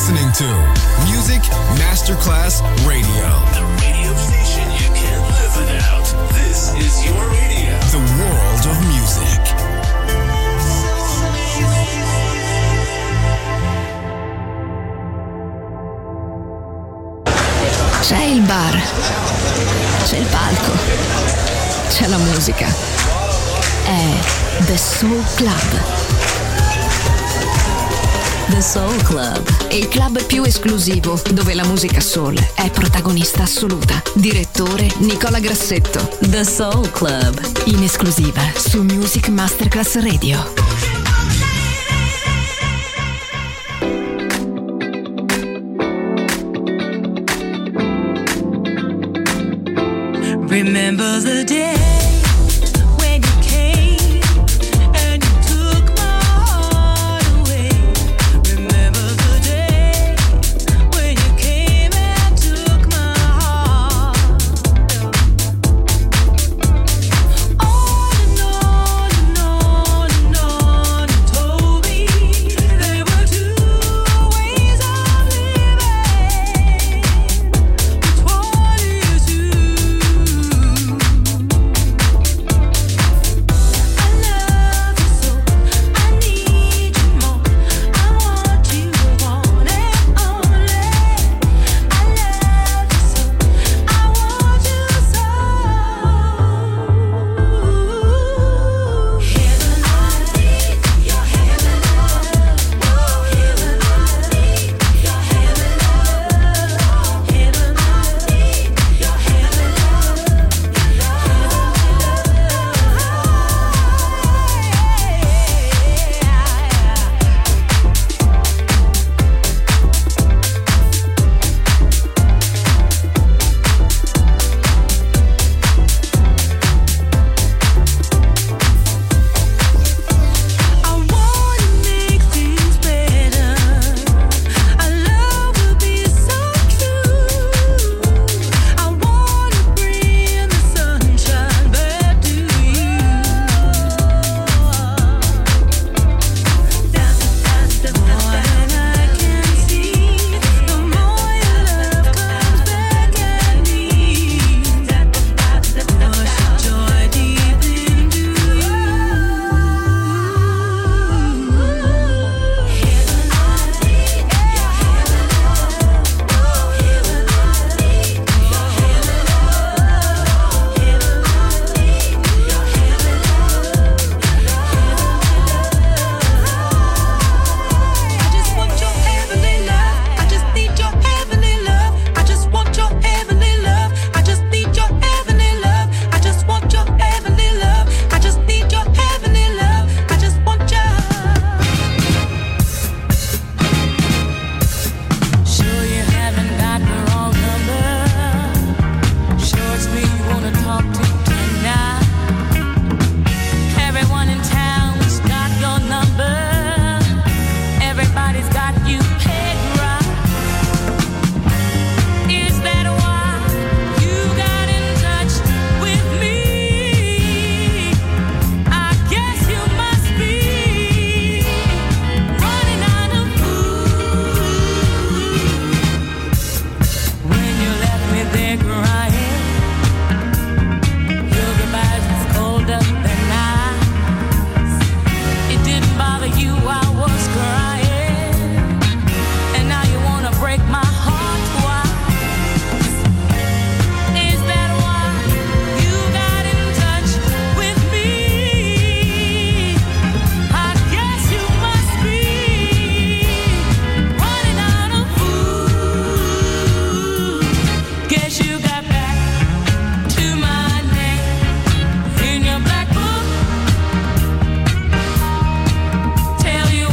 listening to Music Masterclass Radio. The radio station you can't live without. This is your radio. The world of music. C'è il bar, c'è il palco, c'è la musica. È The Soul Club. The Soul Club, il club più esclusivo dove la musica soul è protagonista assoluta. Direttore Nicola Grassetto. The Soul Club, in esclusiva su Music Masterclass Radio. Remember the day. Tell you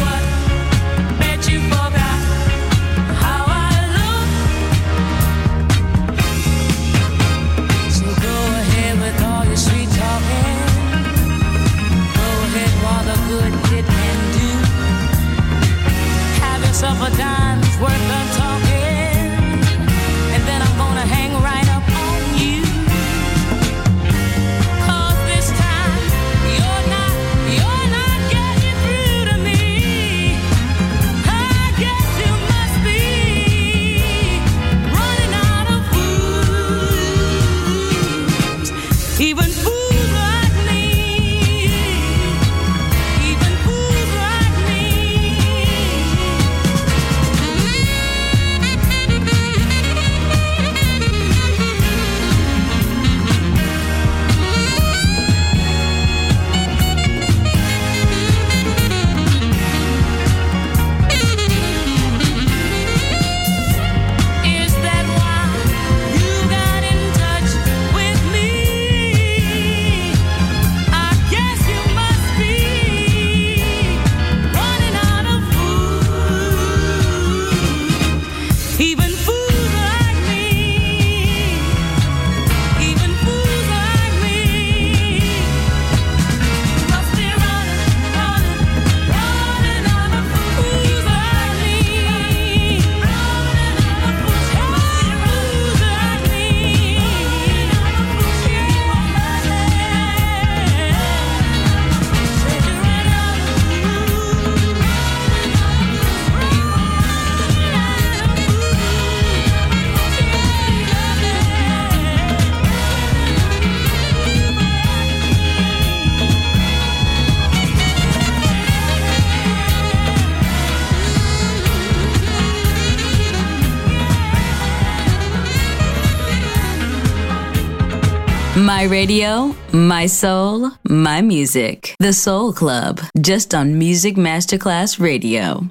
My radio, my soul, my music. The Soul Club, just on Music Masterclass Radio.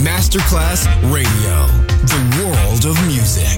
Masterclass Radio, the world of music.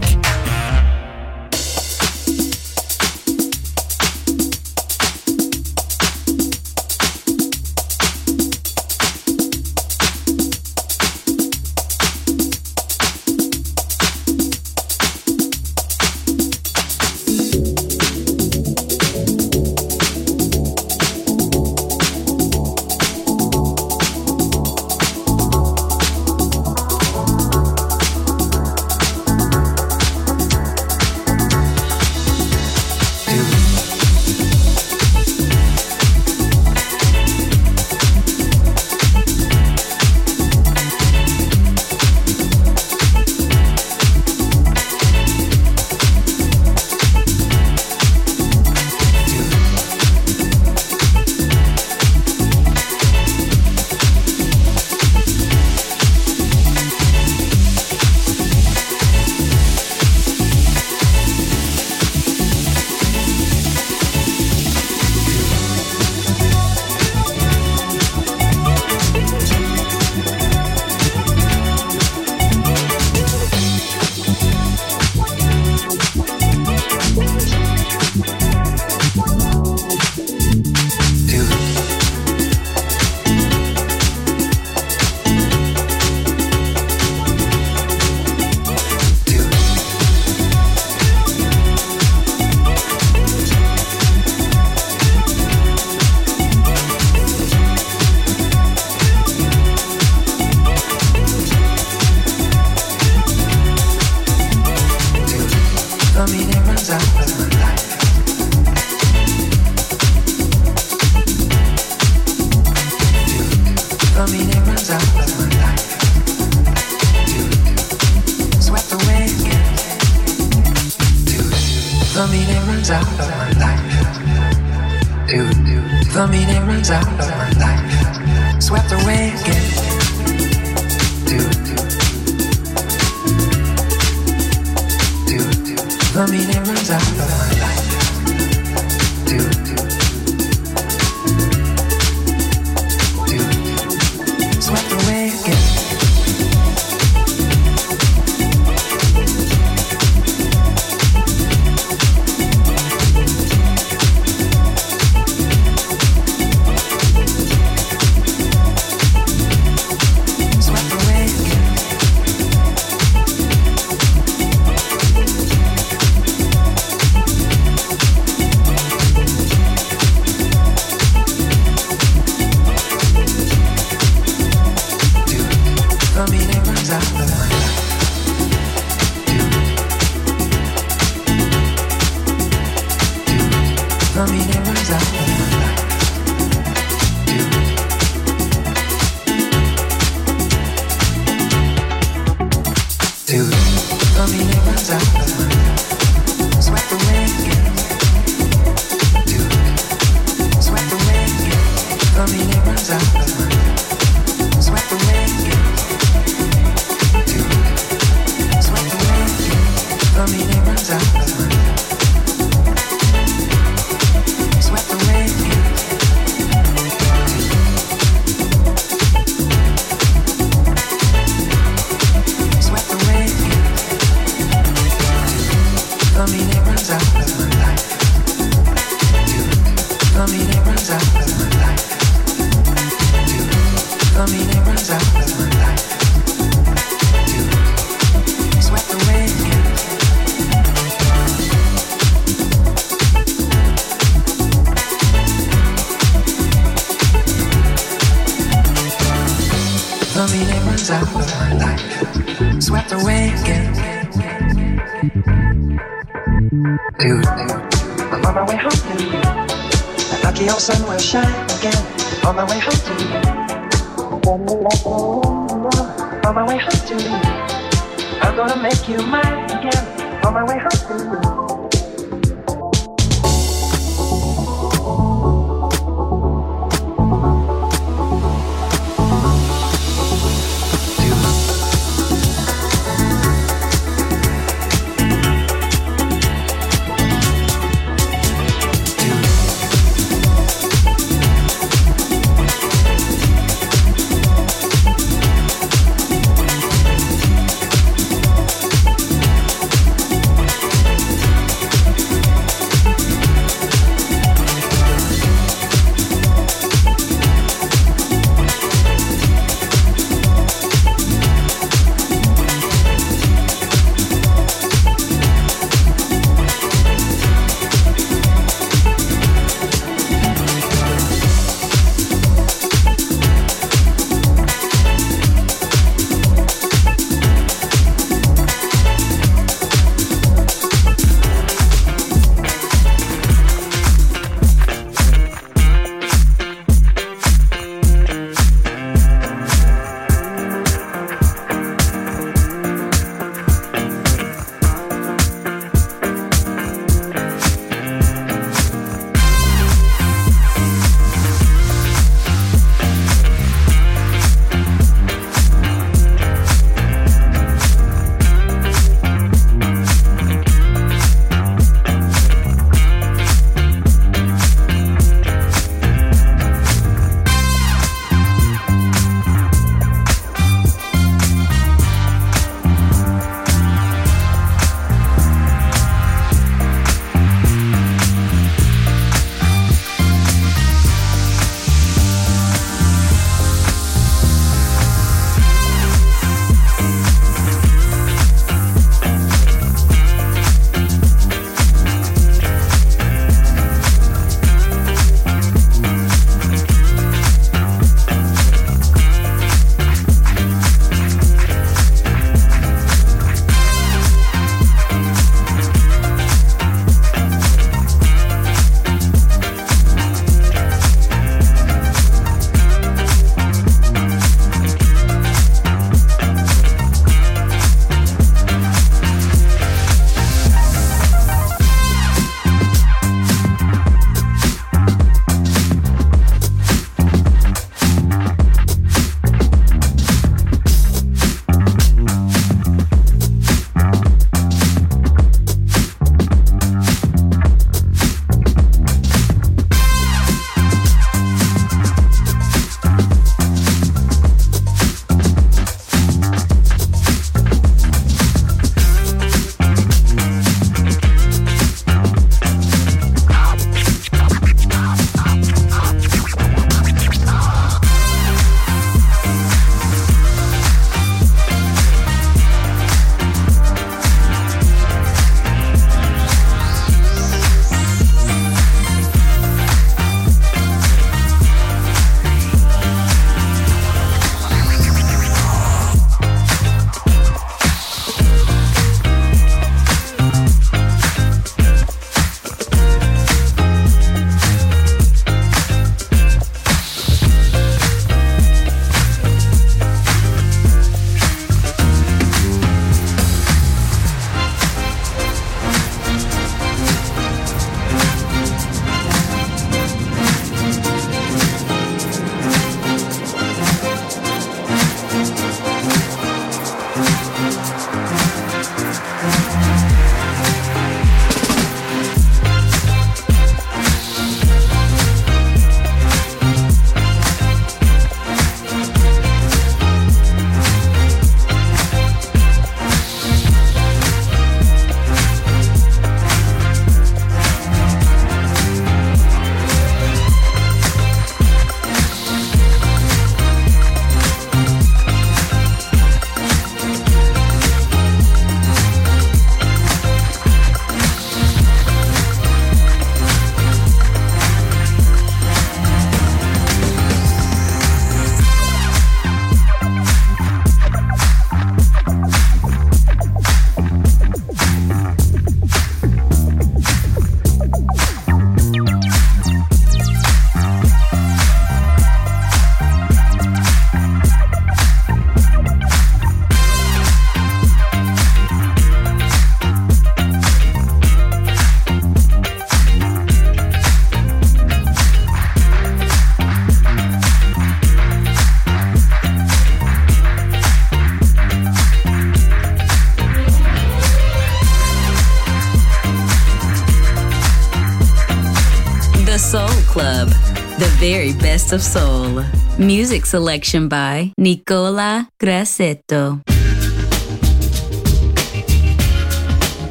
the very best of soul. Music selection by Nicola Grassetto.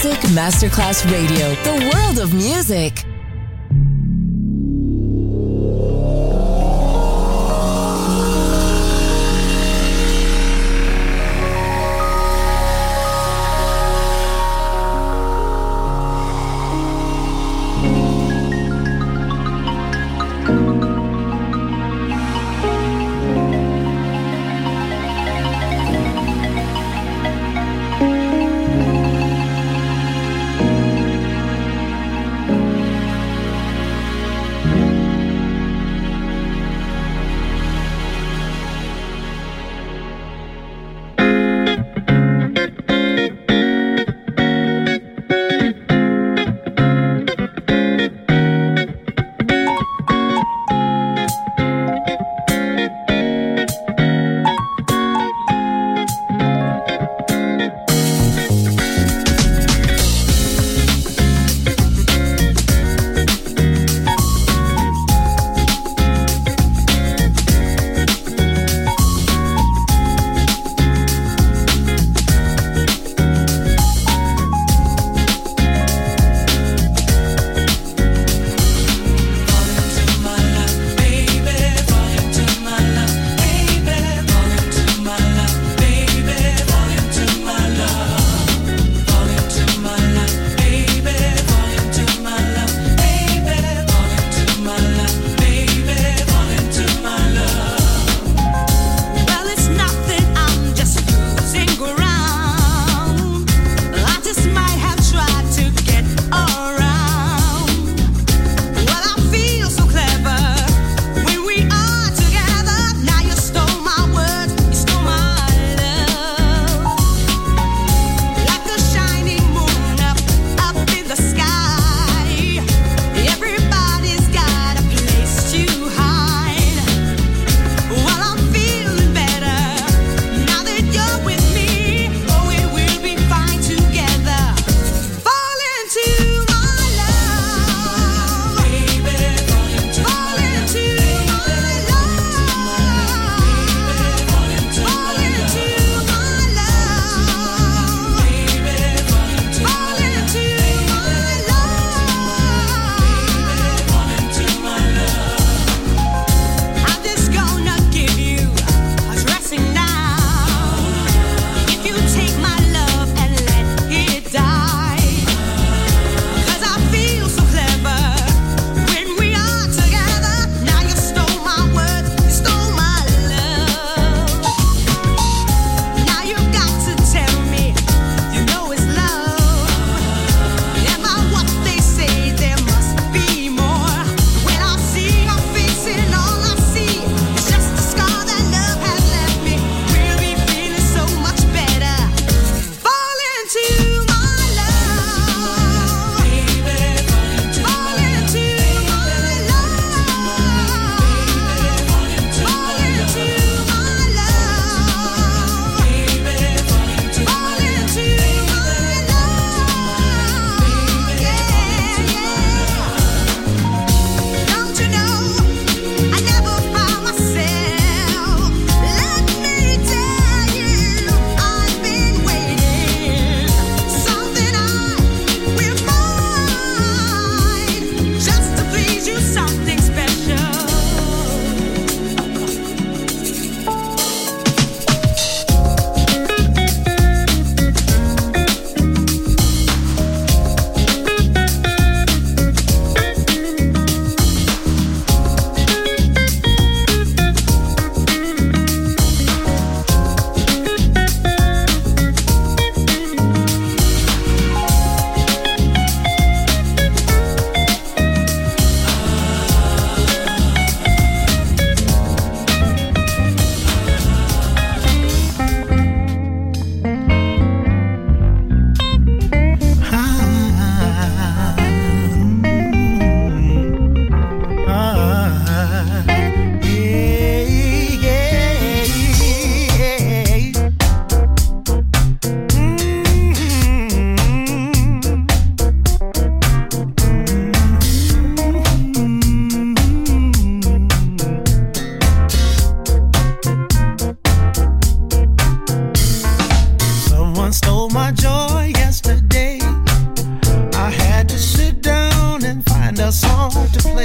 Music Masterclass Radio, the world of music.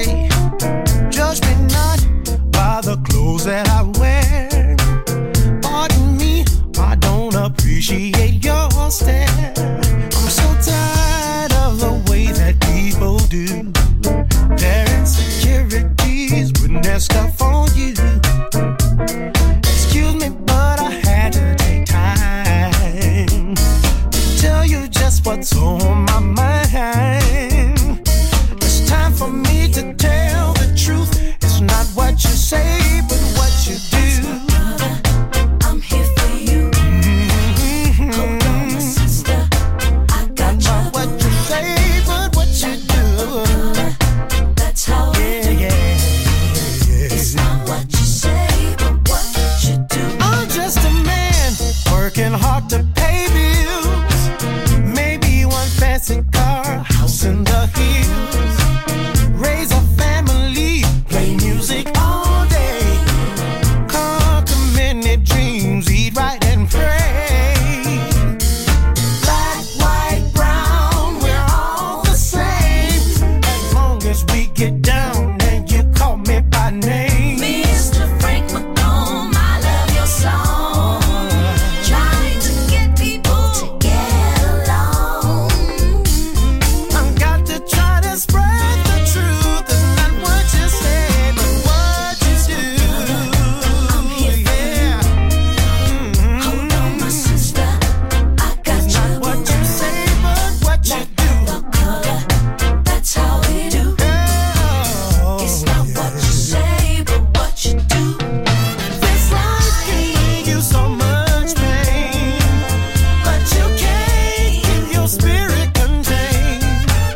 say, judge me not by the clothes that I wear. Pardon me, I don't appreciate your stare. I'm so tired of the way that people do their insecurities, putting their stuff on you. Excuse me, but I had to take time to tell you just what's on my mind. It's time for me to tell the truth. It's not what you say, but what you do. I'm here for you. Hold on, my sister. I got you. Not what you say, but what you do. That's how it is. It's not what you say, but what you do. I'm just a man working hard to pay bills. Maybe one fancy car, house in the hills. Raise a family, play music all day. Conquer many dreams, eat right and pray. Black, white, brown, we're all the same. As long as we get down and you call me by name. Mr. Frank McComb, I love your song. Trying to get people to get along. I've got to try to spread the truth. It's not what you say, but what you do. I'm here for Yeah. Hold on, my sister. I got It's you. not what you say, but what you do. The color, that's how we do. Oh, It's not what you say, but what you do. this life can bring you so much pain, but you can't keep your spirit contained.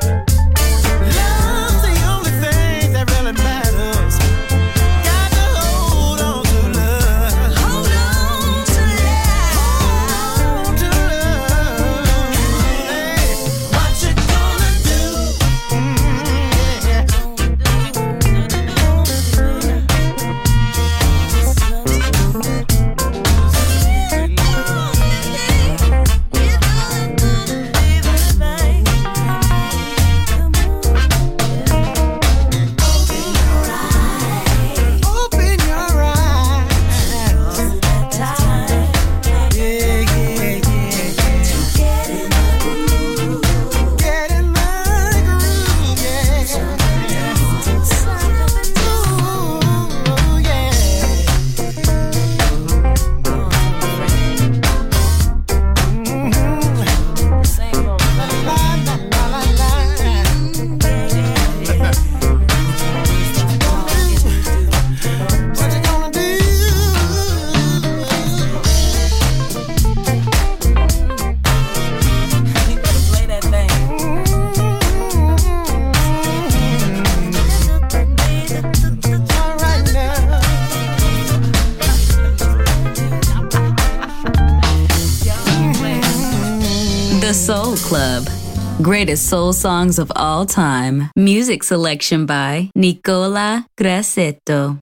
Love's the only thing that really matters. Got to hold on to love. Hold on to love. To love. Hey, what you gonna do? Open your eyes. Yeah, yeah, yeah, yeah. Get in the groove, yeah. Ooh, yeah. What you gonna do? All right now. The Soul Club. Greatest soul songs of all time. Music selection by Nicola Grassetto.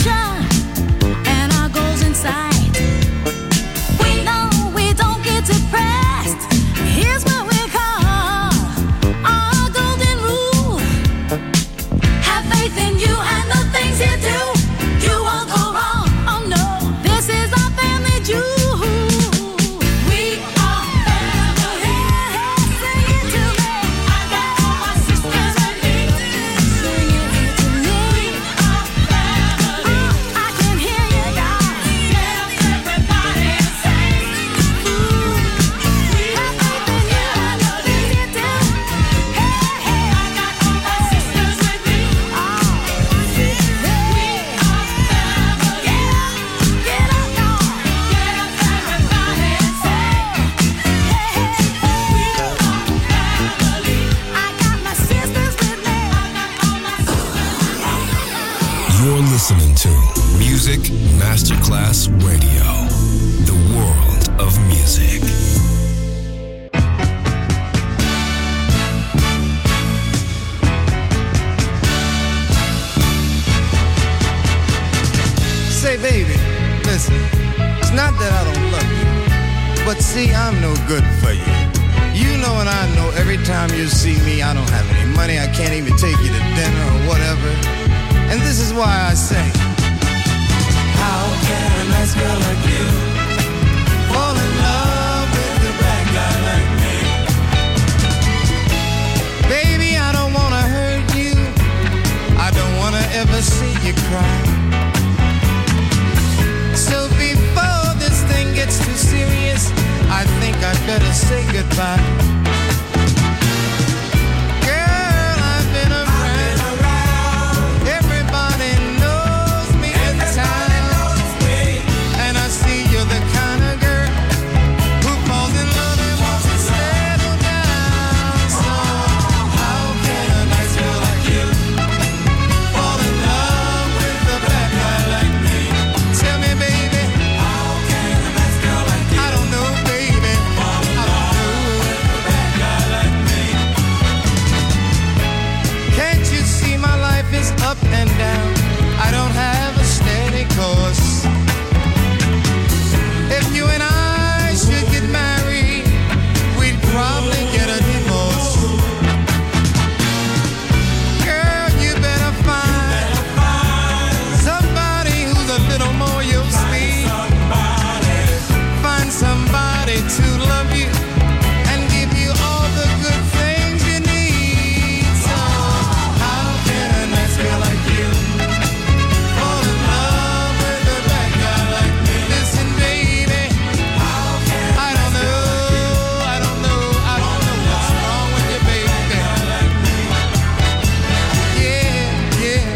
listening to Music Masterclass Radio, the world of music. Say, baby, listen, it's not that I don't love you, but see, I'm no good for you. You know and I know every time you see me, I don't have any money, I can't even take you to dinner or whatever. And this is why I say, how can a nice girl like you fall in love with a bad guy like me? Baby, I don't wanna hurt you, I don't wanna ever see you cry. So before this thing gets too serious, I think I'd better say goodbye. Girl, I've been around. Everybody knows me in town. And I see you're the kind of girl who falls in love and wants to settle down. So how can a nice girl like you fall in love with a bad guy like me? Tell me, baby, how can a nice girl like you? I don't know, baby. Fall in love with a bad guy like me. Can't you see my life is up and down? I don't have a steady course. If you and I should get married, we'd probably get a divorce. Girl, you better find somebody who's a little more your speed. Find somebody to love you and give you all the good things you need. So how can a nice girl like you fall in love with a bad guy like me? Listen, baby, I don't know what's wrong with you, baby. Yeah.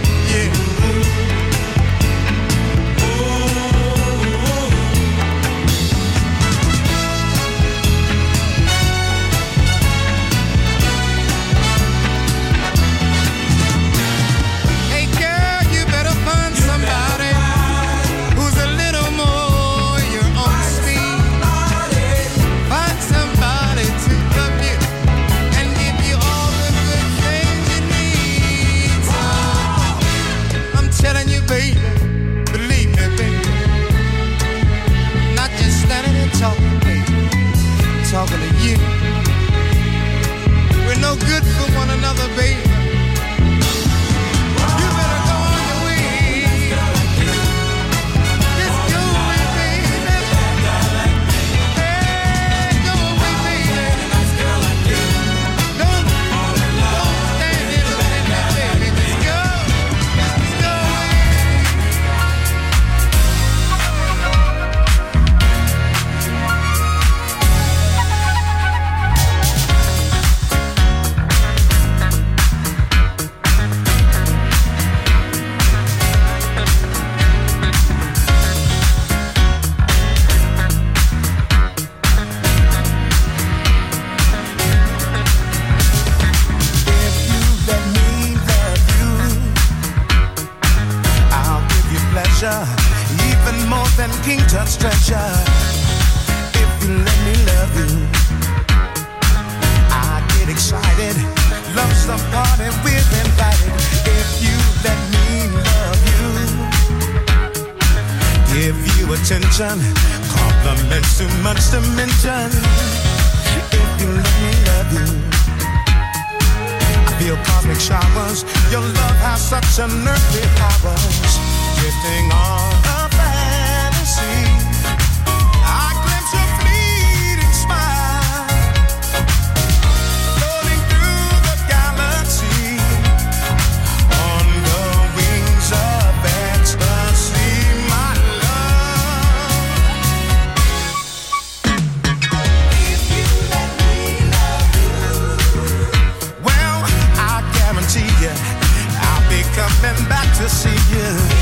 Hey girl, you better find somebody who's a little more your own speed. Find somebody to love you and give you all the good things you need. So, I'm telling you, baby, believe me, baby. Not just standing and talking, baby. Talking to you. We're no good for one another, baby. You better go on your way. Just go away, baby. Hey, go away, baby. Don't stand here looking at me, baby. Just go. Just go away. If you let me love you, I'll give you pleasure, even more than King Tut's treasure. If you let me love you, I get excited. Love some party we're invited. If you let me love you, attention, compliments too much to mention. If you let me love you, I feel cosmic showers. Your love has such unearthly powers. Drifting on a fantasy, I glimpse your fleeting smile, floating through the galaxy on the wings of ecstasy, my love. If you let me love you, well, I guarantee you, I'll be coming back to see you.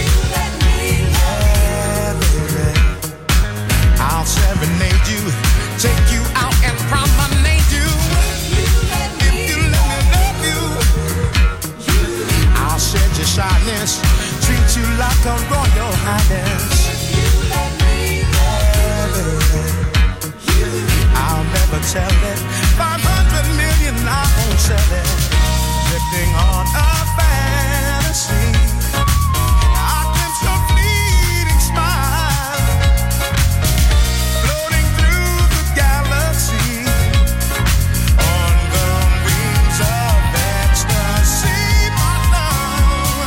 I'll serenade you, take you out and promenade you. If you let me love you, I'll shed your shyness, treat you like a royal highness. If you let me love you, I'll never tell it. 500 million, I won't sell it. Drifting on a fantasy, I glimpse your fleeting smile, floating through the galaxy on the wings of ecstasy, my love.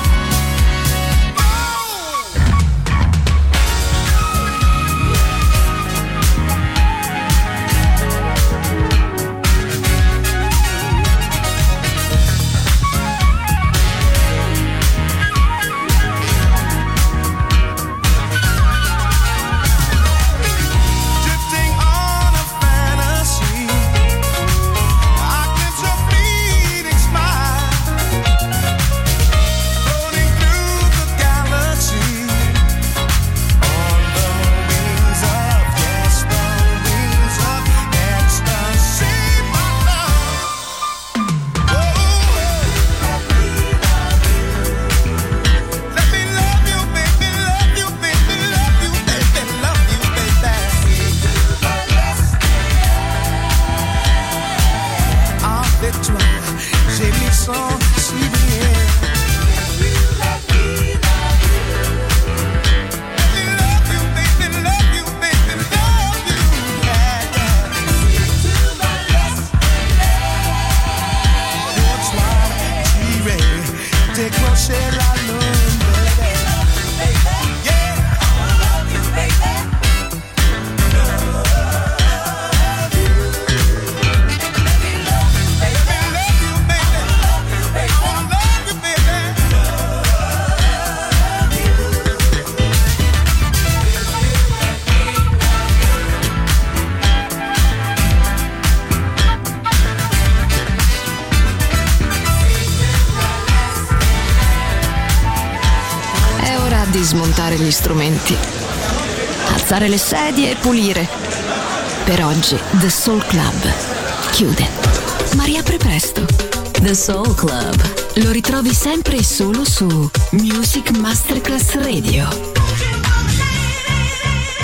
Drifting on a fantasy, I glimpse your fleeting smile, floating through the galaxy on the wings of, yes, the wings of ecstasy, my love. Let me love you, baby, love you, baby, love you, baby, love you, baby. En fait, toi, j'ai mis son si bien. Let me love you, baby, love you, baby, love you, yeah, yeah. Pour toi, j'irai décrocher la lune, baby. Yeah. È ora di smontare gli strumenti, alzare le sedie e pulire. Per oggi The Soul Club chiude, ma riapre presto. The Soul Club. Lo ritrovi sempre e solo su Music Masterclass Radio.